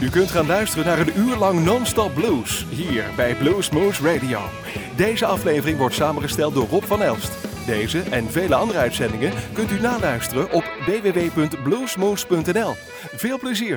U kunt gaan luisteren naar een uur lang non-stop blues, hier bij Bluesmoose Radio. Deze aflevering wordt samengesteld door Rob van Elst. Deze en vele andere uitzendingen kunt u naluisteren op www.bluesmoose.nl. Veel plezier!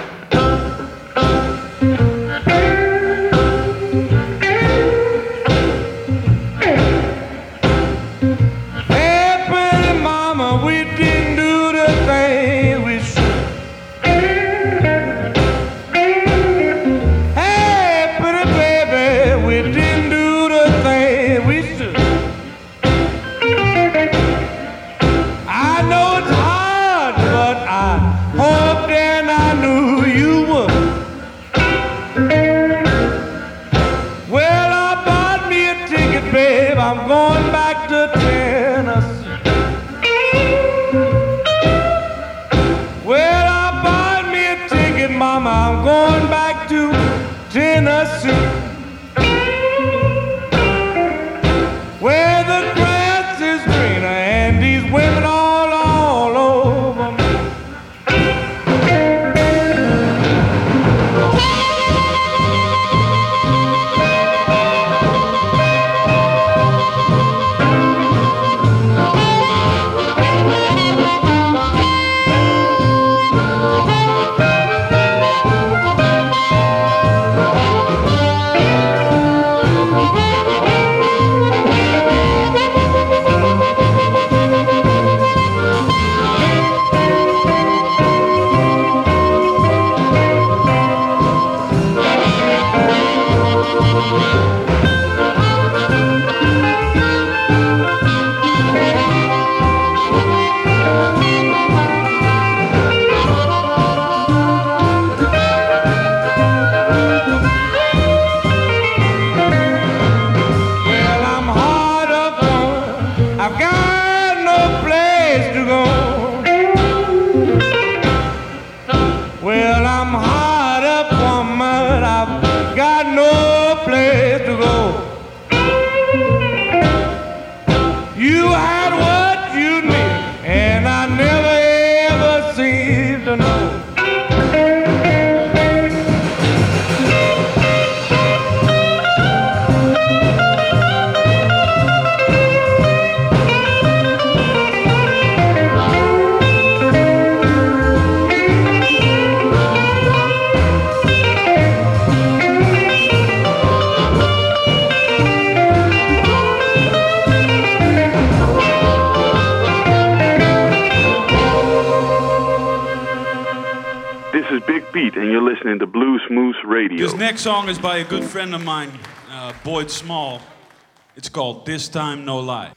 This next song is by a good friend of mine, Boyd Small. It's called This Time No Lie.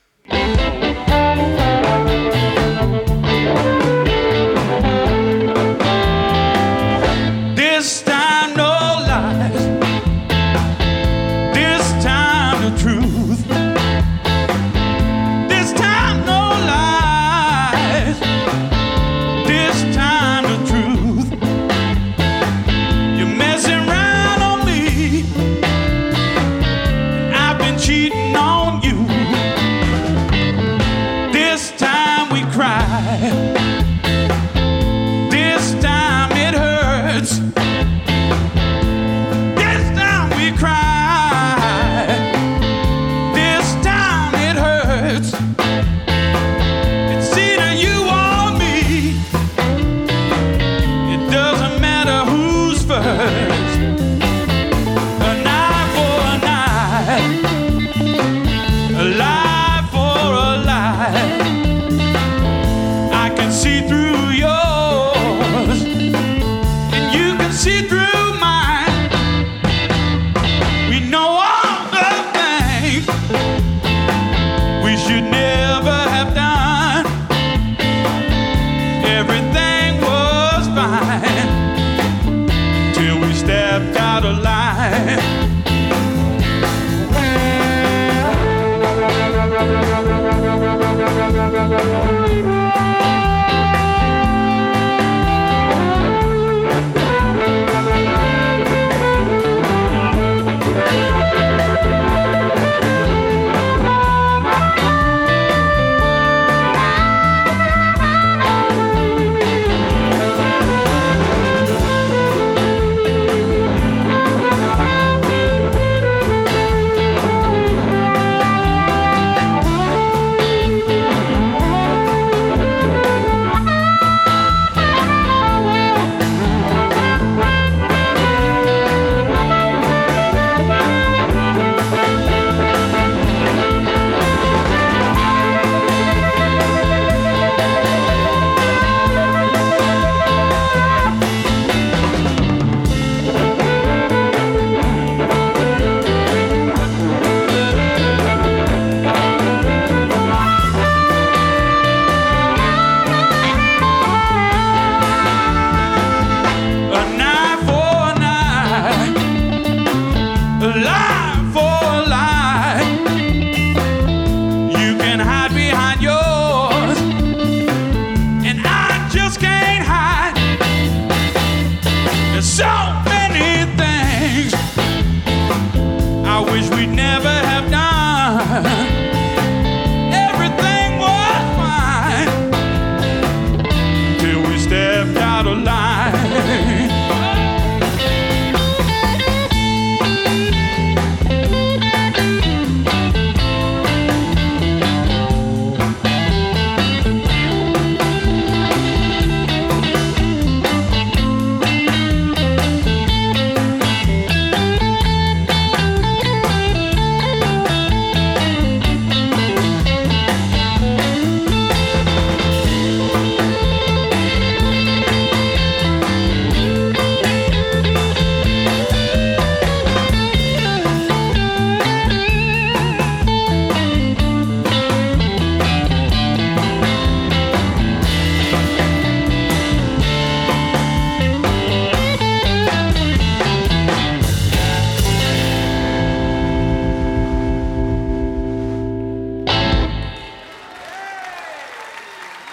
This time no lies, this time the truth. This time no lies, this time the truth. You're messing around on me, and I've been cheating on you. This time we cry, this time it hurts. This time we cry, this time it hurts. It's either you or me, it doesn't matter who's first. An eye for an eye, a lie for a lie. I can see through yours, and you can see through mine. We know all the things we should never have done. Everything was fine till we stepped out of line.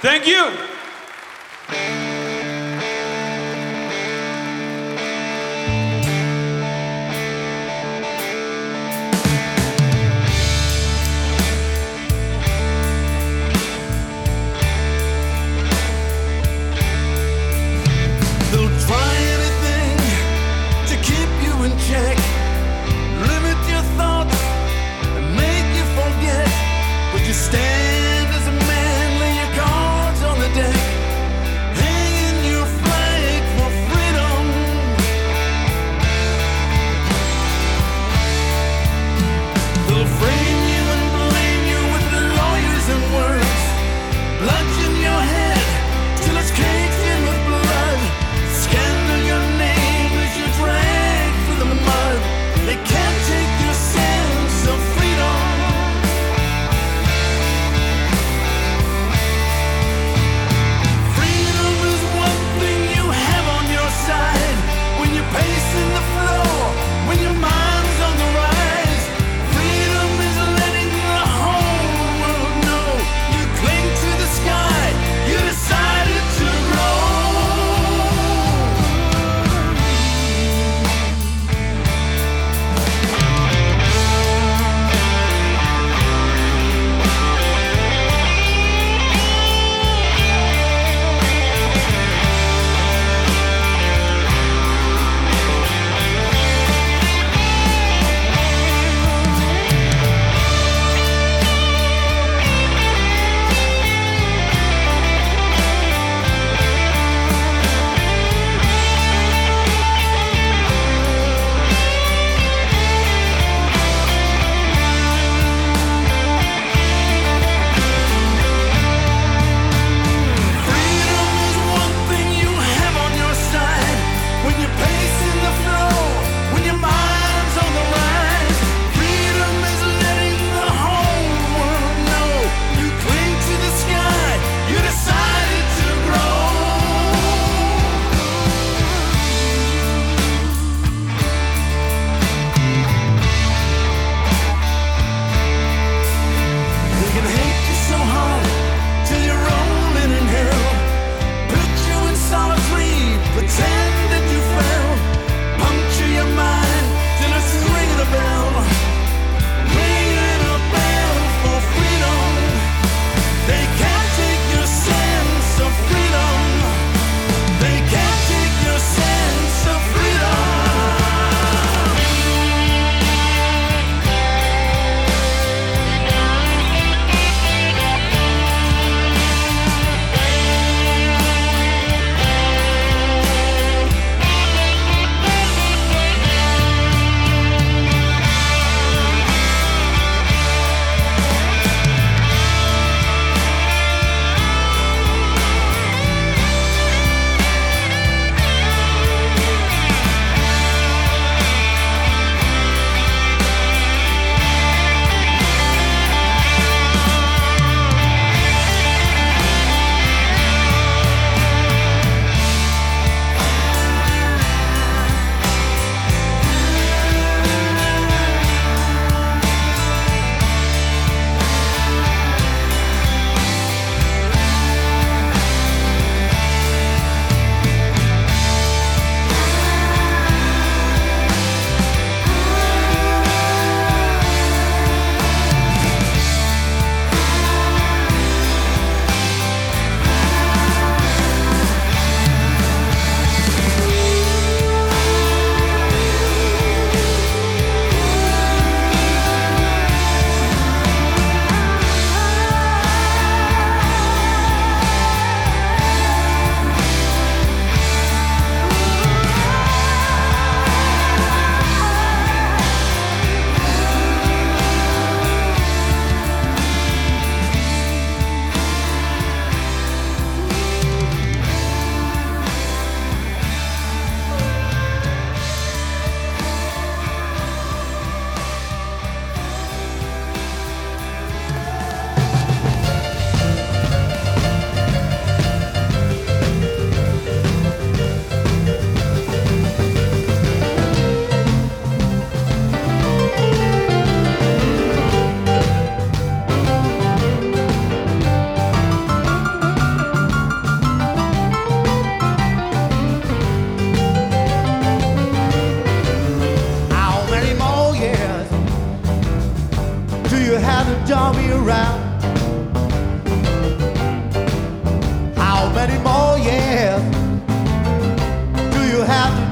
Thank you. Check. Limit your thoughts and make you forget. But you stand as a man, lay your cards on the deck.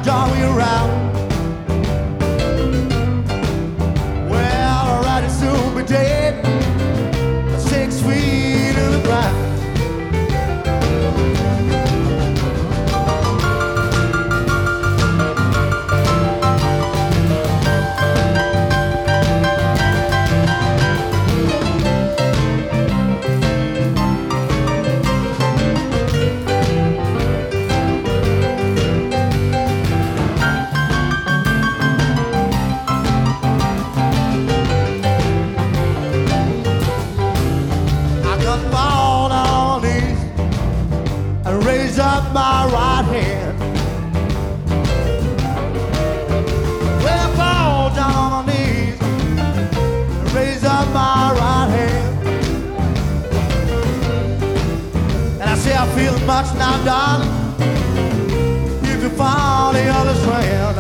dog we around. Well, alright, it's soon be dead. 6 feet in the ground. Raise up my right hand. Well, I fall down on my knees and raise up my right hand. And I say I feel much now, darling. You can find the other strand.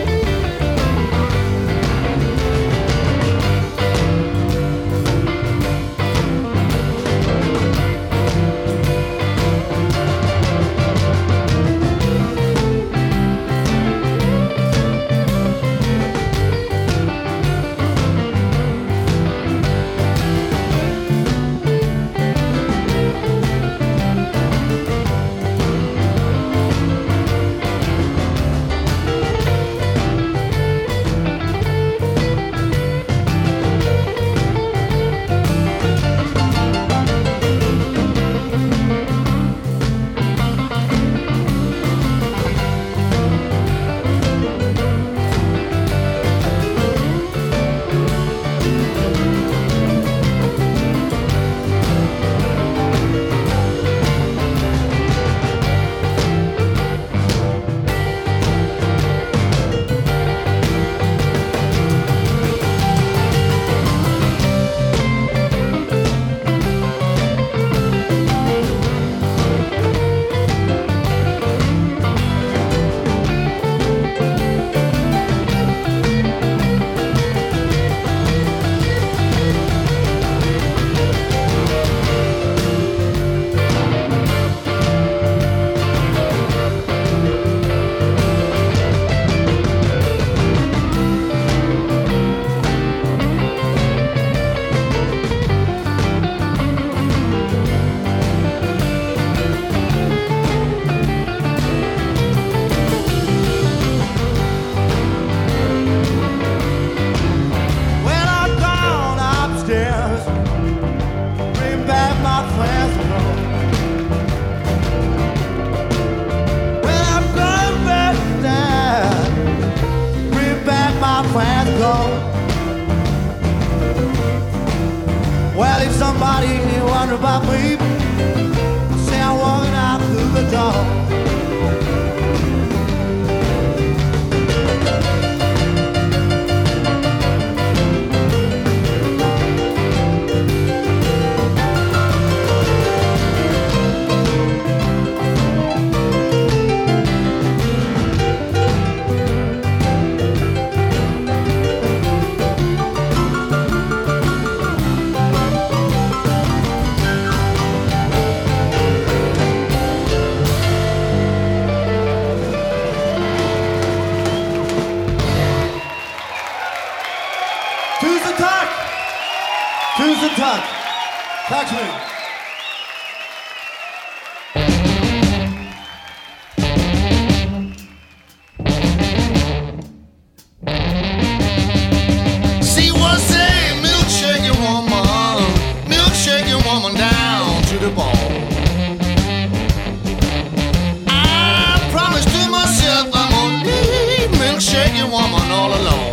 Well, if somebody wonder about me, say I'm walking out through the door. Tusen tack! Tack så mycket! See what's a milkshake woman down to the bone. I promised to myself I'm gonna leave milkshake woman all alone.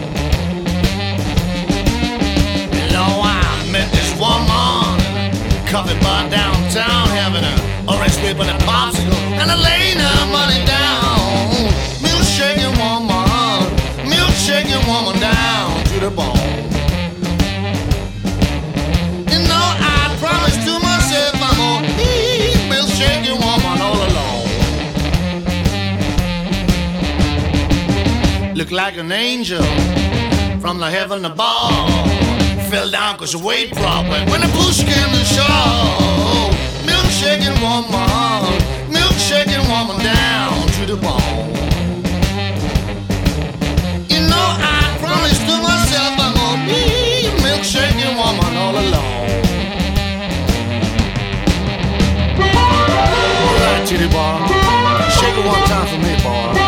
Woman, coffee bar downtown, having a orange whip and a popsicle, and I laying her money down. Milkshake woman down to the bone. You know I promised to myself I'm gonna leave milkshake woman all alone. Look like an angel from the heaven above. Fell down cause of weight problem when the push came to shove. Milkshake woman down to the bone. titty bar. Shake it one time for me, boy.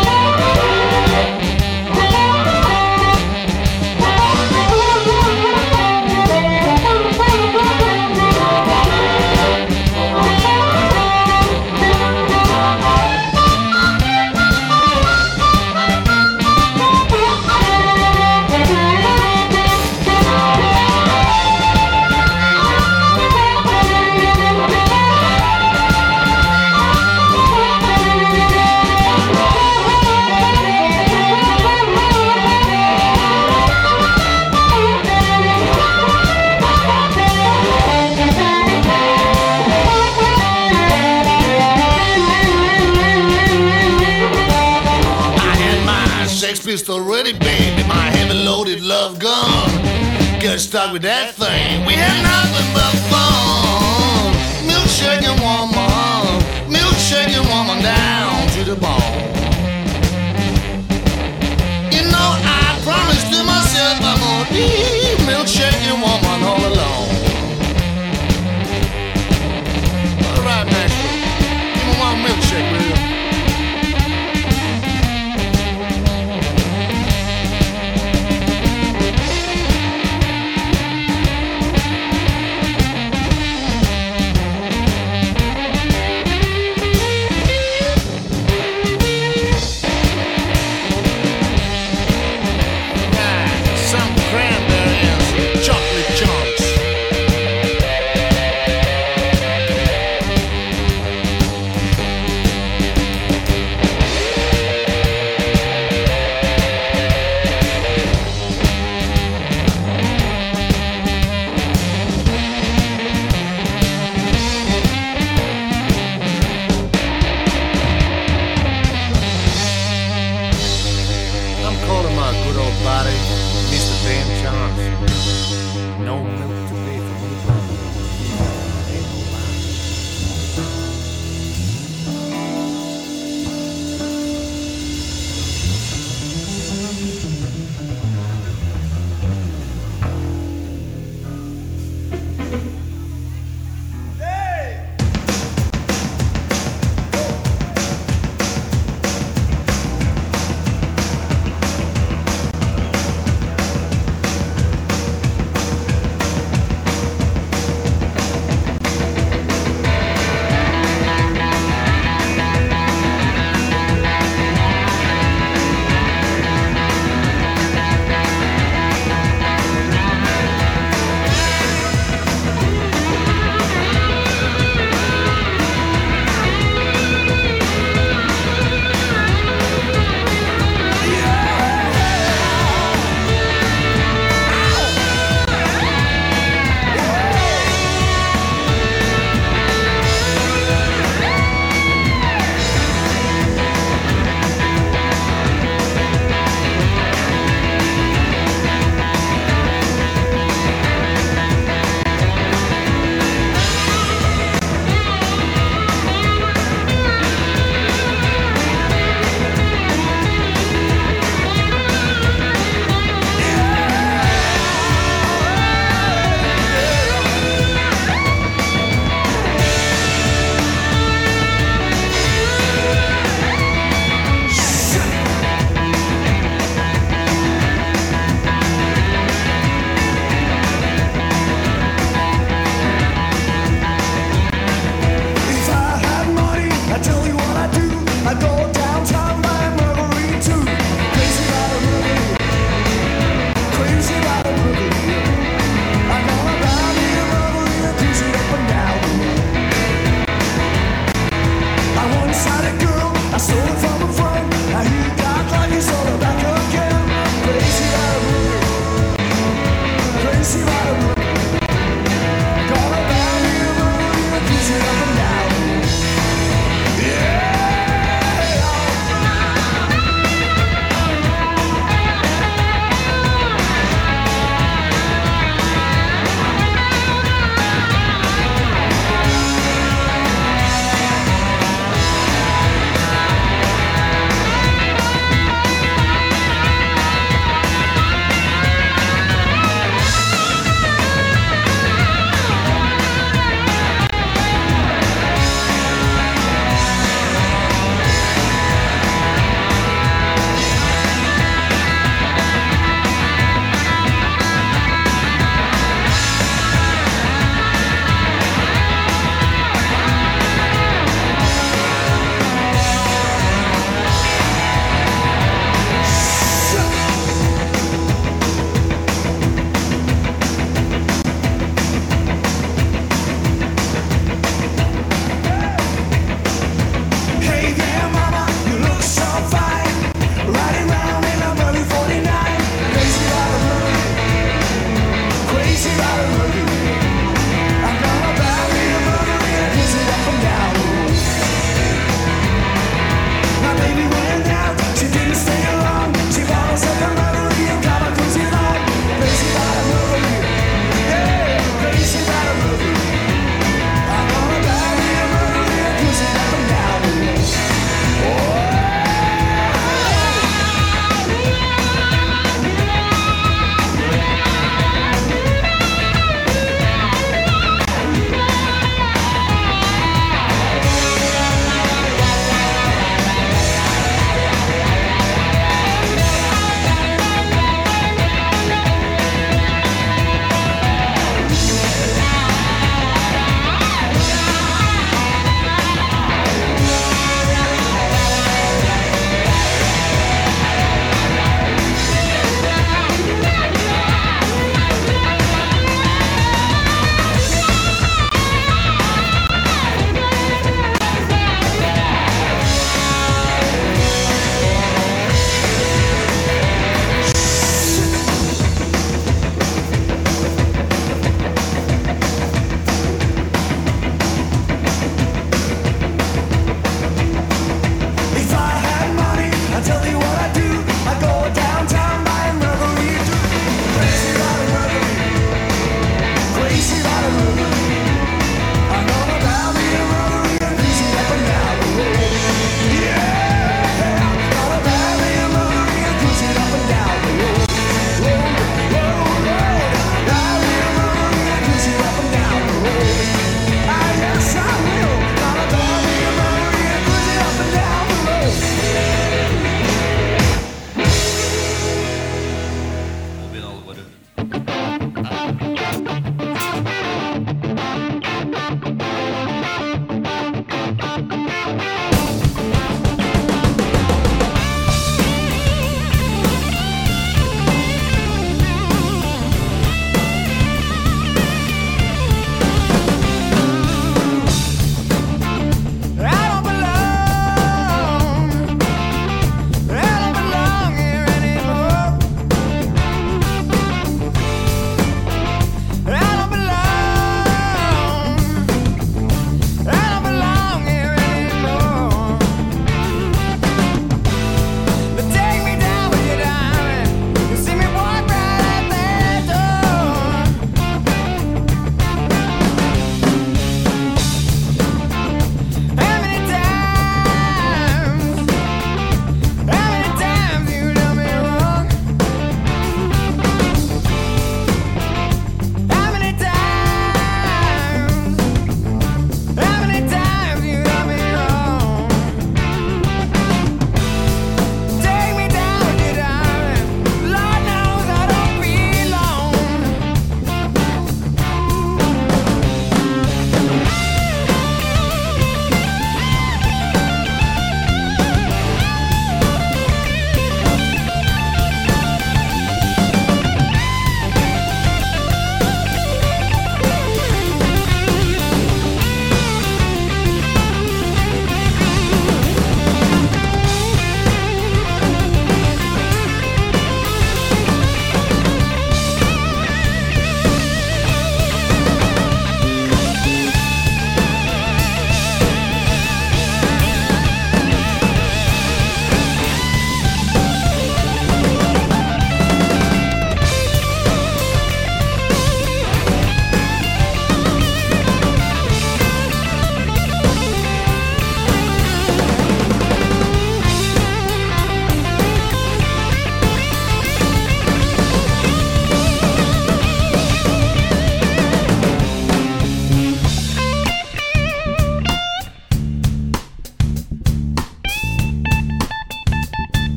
Pistol ready, baby, my heavy loaded love gun. Get stuck with that thing. We had nothing but fun. Milkshaking woman down to the bone. You know I promised to myself I'm gonna be milkshaking woman all alone. All right, Maxwell, give me one milkshake, will you?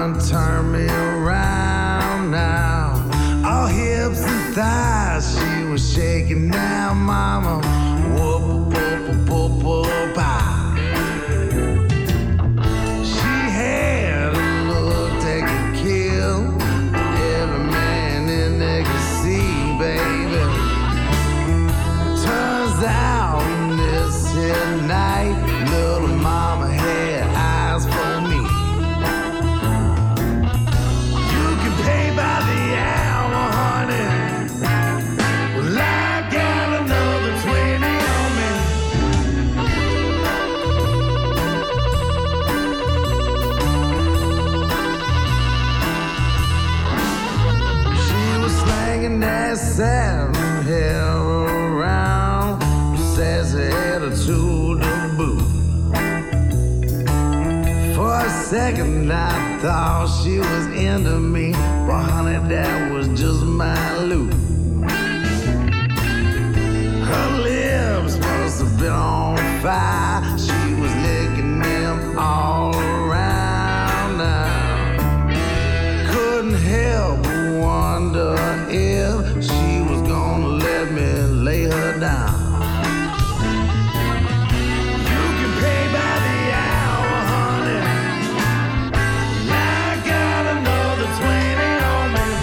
done turned me around now. All hips and thighs, she was shaking now, mama. Whoop, whoop, whoop, whoop, ah. She had a look that could kill every man in there could see, baby. Turns out this here night, little mama had eyes for me. You can pay by the hour, honey. Well, I got another 20 on me. She was slanging that satin hair around, sassy attitude to boot. For a second I thought she was into me, but honey, that was just my loot. Her lips must have been on fire. She was licking them all around now. Couldn't help but wonder if she was gonna let me lay her down. You can pay by the hour, honey. I got another 20 on me.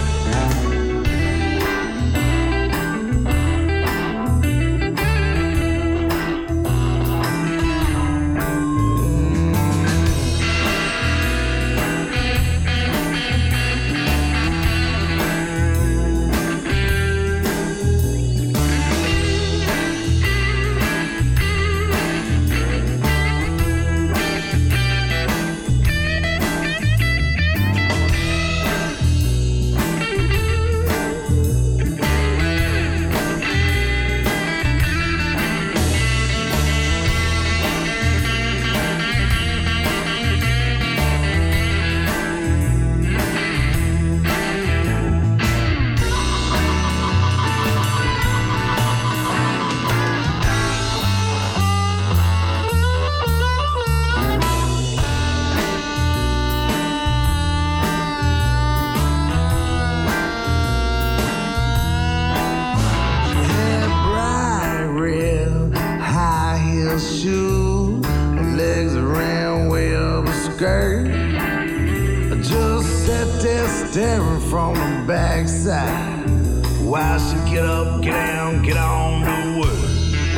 Shoes, her legs ran way up her skirt. I just sat there staring from the backside while she get up, get down, get on to work.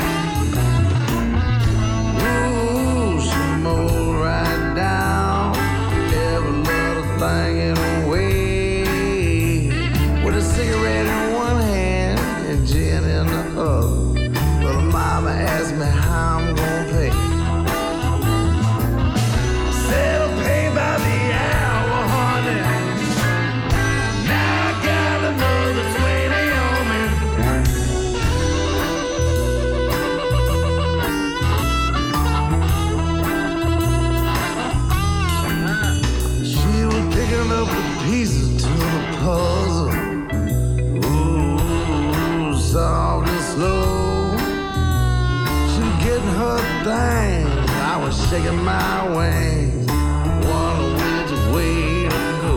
Ooh, she moved right down every little thing in a way, with a cigarette in one hand and gin in the other. Little mama asked me how I'm gonna pay. Said I'll pay by the hour, honey. Now I got another 20 on me. She was picking up the pieces to the puzzle. Ooh, soft and slow. Getting her thing, I was shaking my wings, wondering which way to go.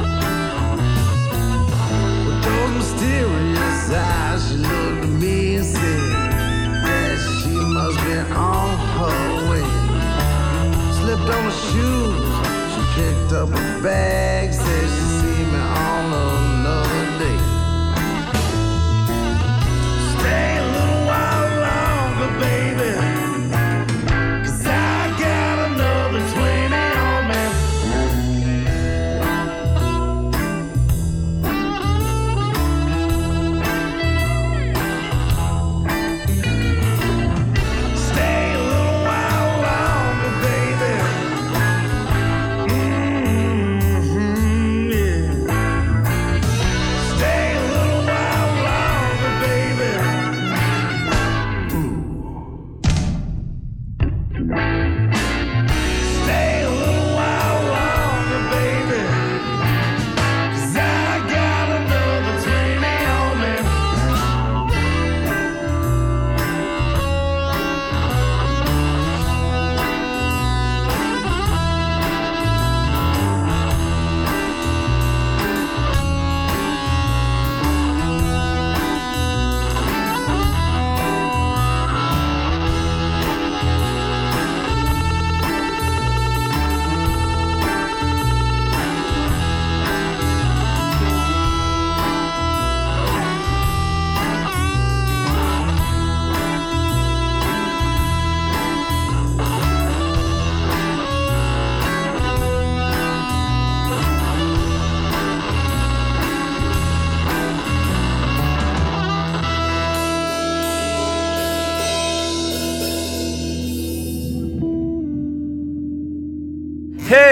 With those mysterious eyes, she looked at me and said that she must be on her way. Slipped on her shoes, she picked up her bag, said she'd see me on another day. Stay a little while longer, baby. 'Cause I got another 20.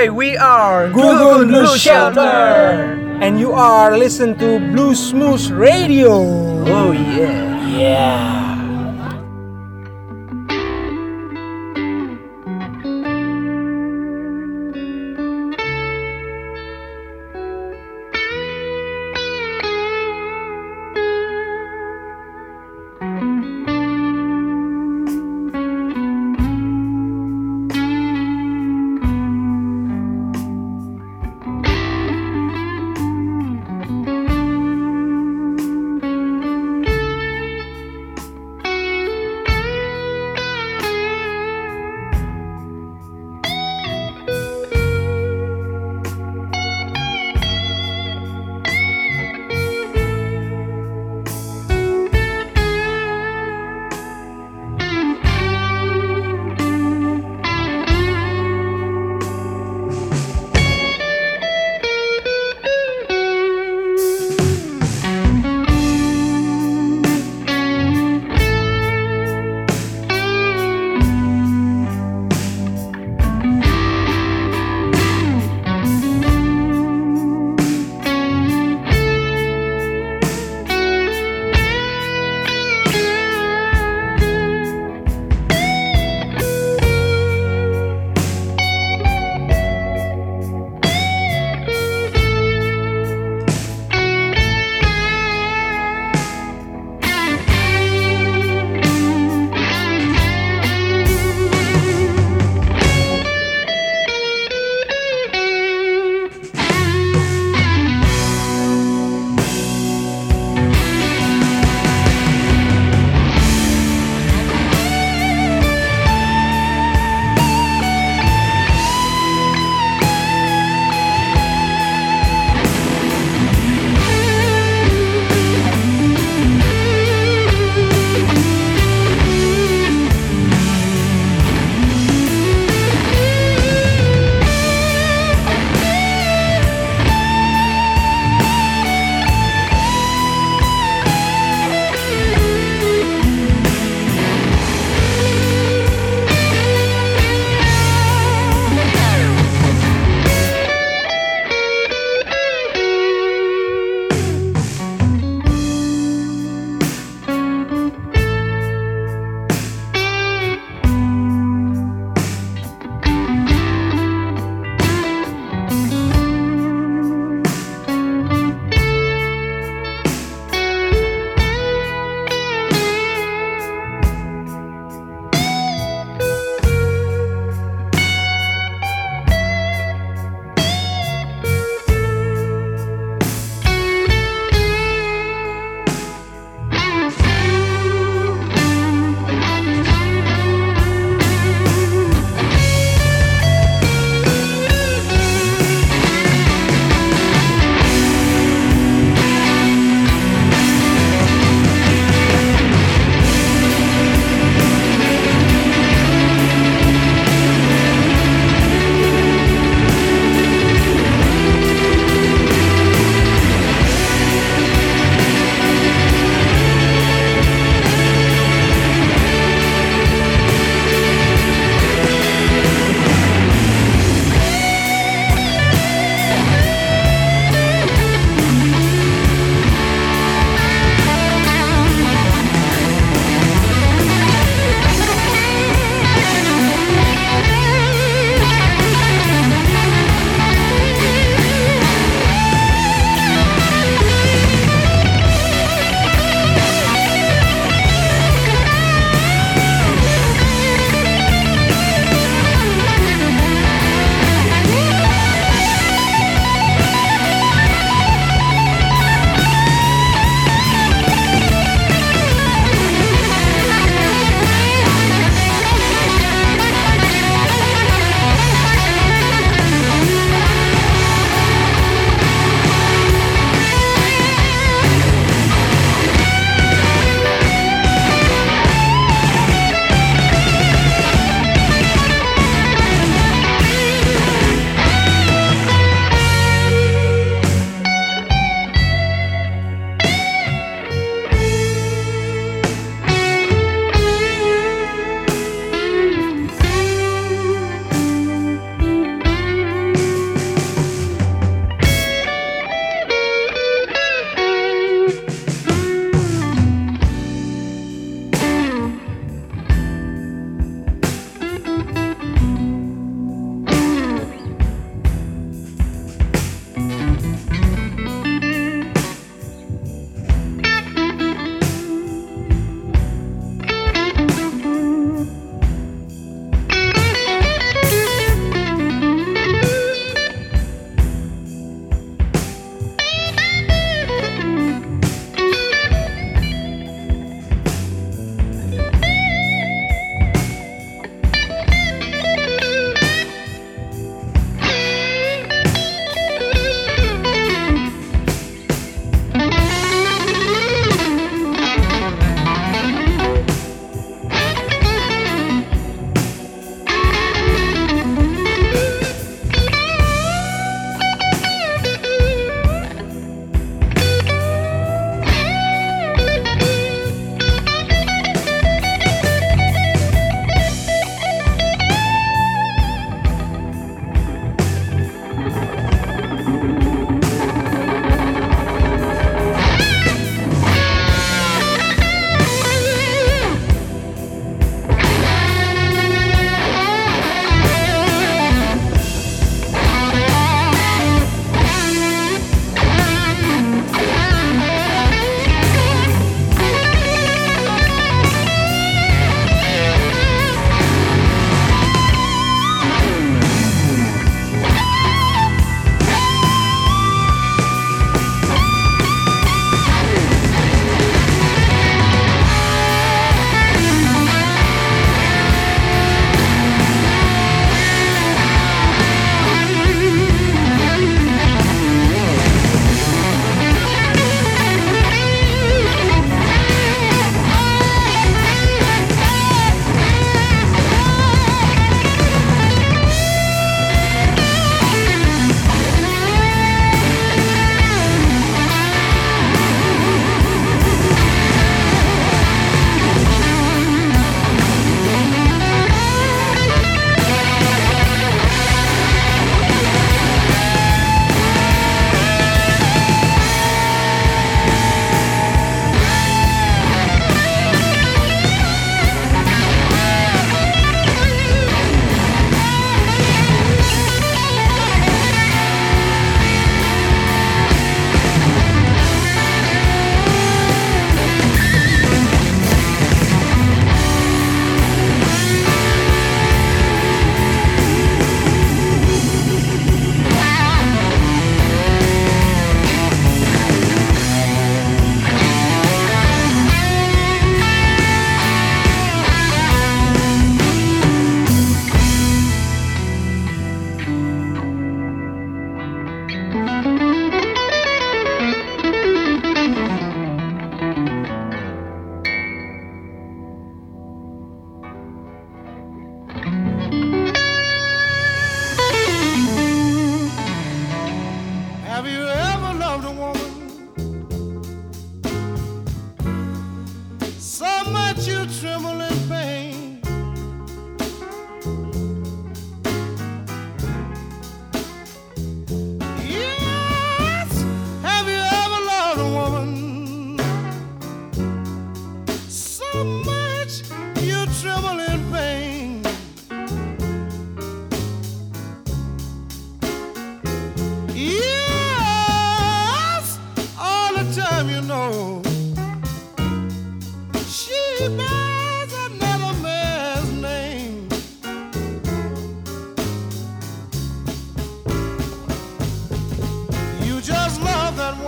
Hey, we are Gugun Blues Shelter, and you are listening to Blues Smooth Radio. Oh yeah. Yeah.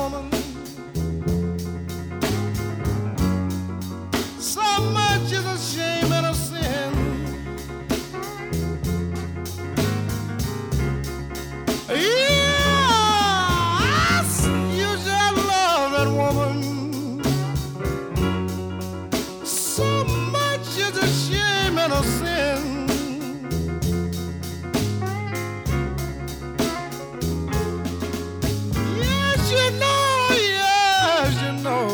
woman. So much is a shame and a sin. Yes, you should love that woman. So much is a shame and a sin. Yes, you know,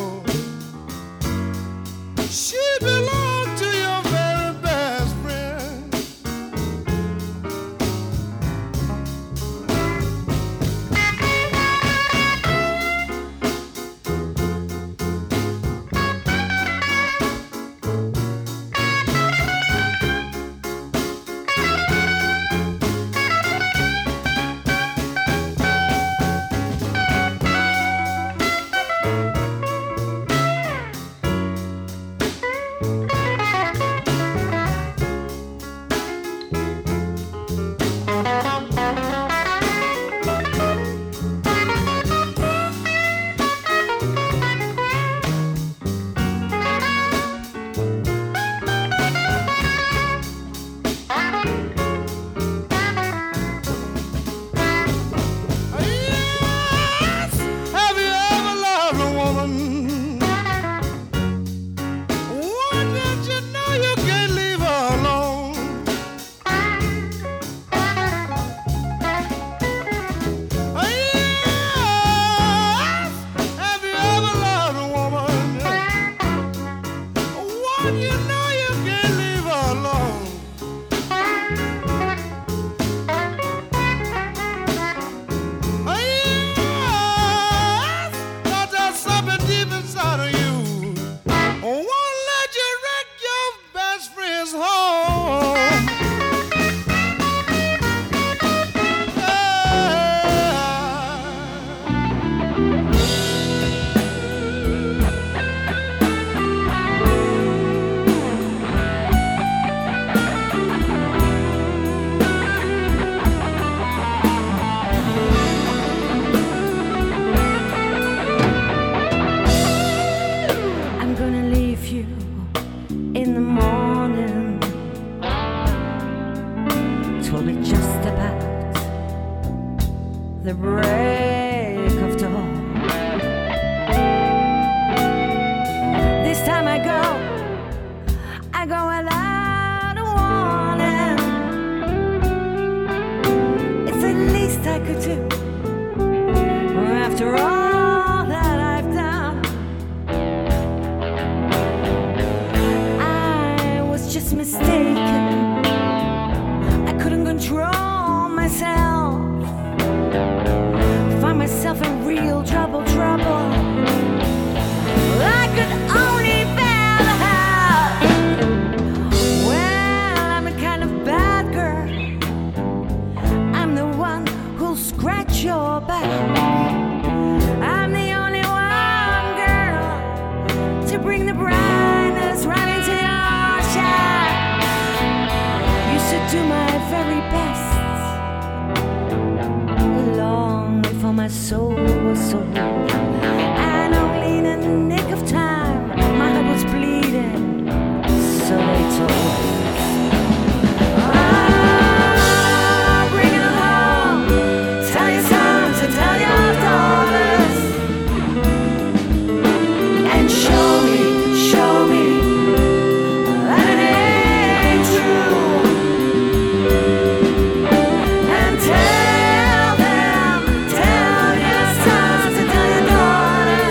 she belonged to your very best friend. Yes, have you ever loved a woman? Wouldn't you know you can't leave her alone? Yes, have you ever loved a woman? Wouldn't you know you can't leave her alone? Yes, 'cause there's something deep inside of you won't let you wreck your best friend's home. I'm gonna leave you in the morning. It will be just about the break of dawn. This time I go without a warning. It's the least I could do after all that I've done. I was just mistaken. I couldn't control myself. Find myself in real trouble. I could only bear the hurt. Well, I'm the kind of bad girl. I'm the one who'll scratch your back. I'm the only one, girl, to bring the brightness right into your shine. Used to do my very best, long before my soul was sold. And only in the nick of time, my heart was bleeding, so they told me. Bring it home, tell your sons and tell your daughters, and show me that it ain't true. And tell your sons and tell your daughters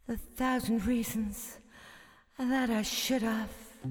the thousand reasons that I should have.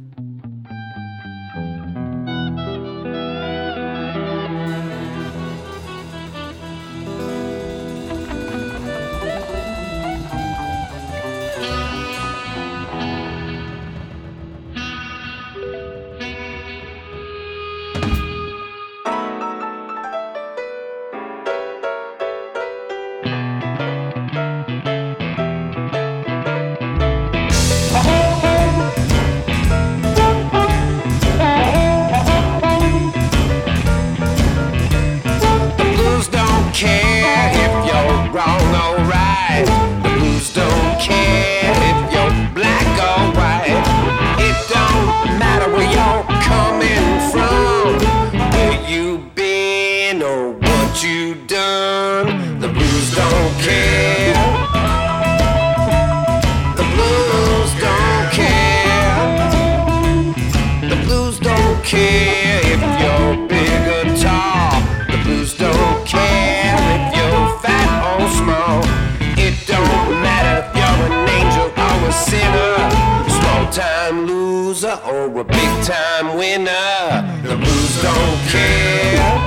Or a big time winner, the blues don't care.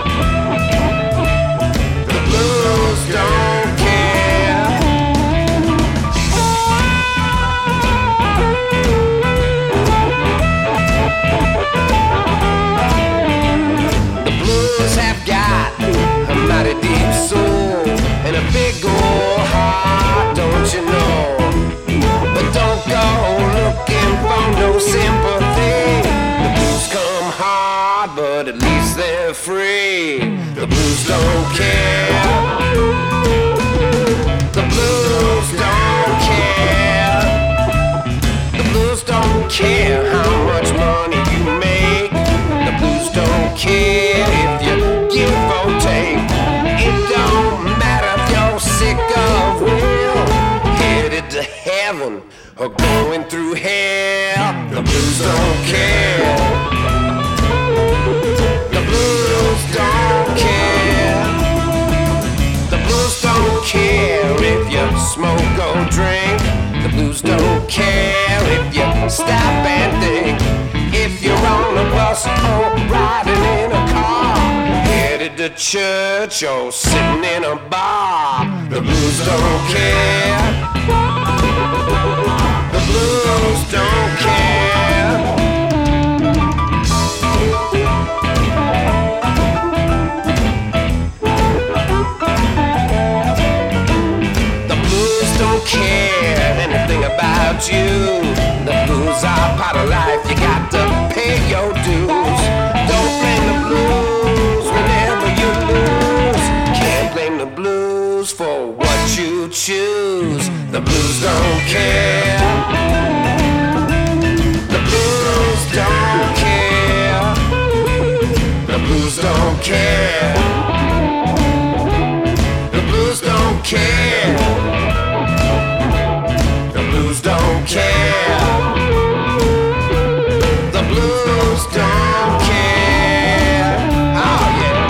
The blues don't care. The blues have got a mighty deep soul and a big old heart, don't you know? But don't go looking for no sympathy. The blues come hard, but at least they're free. The blues don't care. The blues don't care. The blues don't care how much money you make. The blues don't care if you give or take. It don't matter if you're sick of will, headed to heaven or going through hell. The blues don't care. The blues don't care. The blues don't care if you smoke or drink. The blues don't care if you stop and think. If you're on a bus or riding in a car, headed to church or sitting in a bar, the blues don't care. The blues don't care. The blues don't care anything about you. The blues are part of life, you got to pay your dues. Don't blame the blues whenever you lose. Can't blame the blues for what you choose. The blues don't care. The blues don't care. The blues don't care. The blues don't care. The blues don't care. The blues don't care. Oh yeah.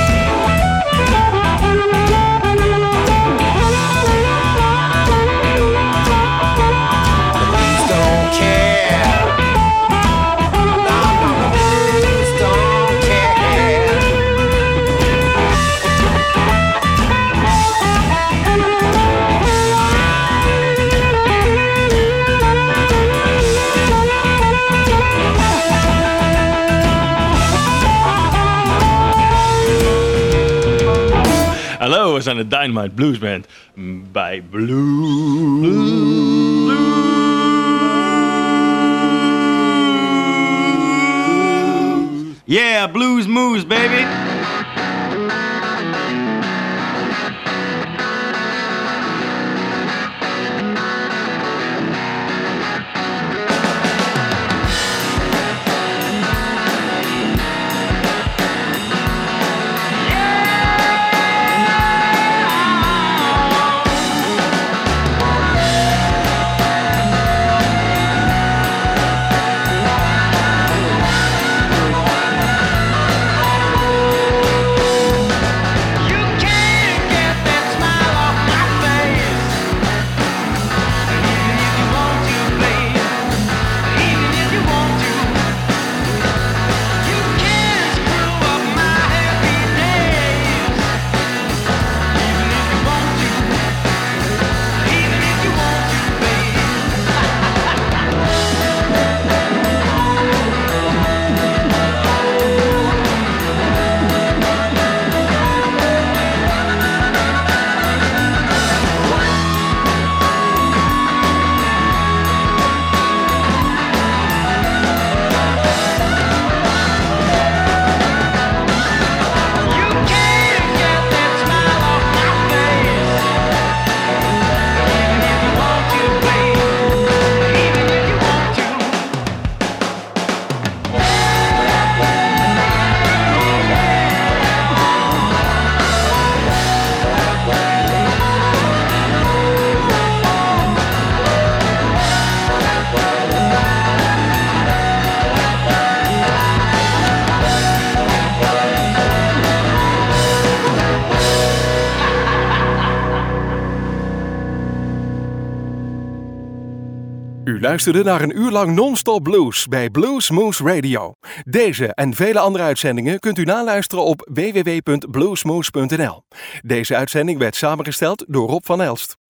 The blues don't care. No, the blues don't care. Hallo, we zijn de Dynamite Blues Band bij Blue. Yeah, blues moves, baby. U luisterde naar een uur lang non-stop blues bij Bluesmoose Radio. Deze en vele andere uitzendingen kunt u naluisteren op www.bluesmoose.nl. Deze uitzending werd samengesteld door Rob van Elst.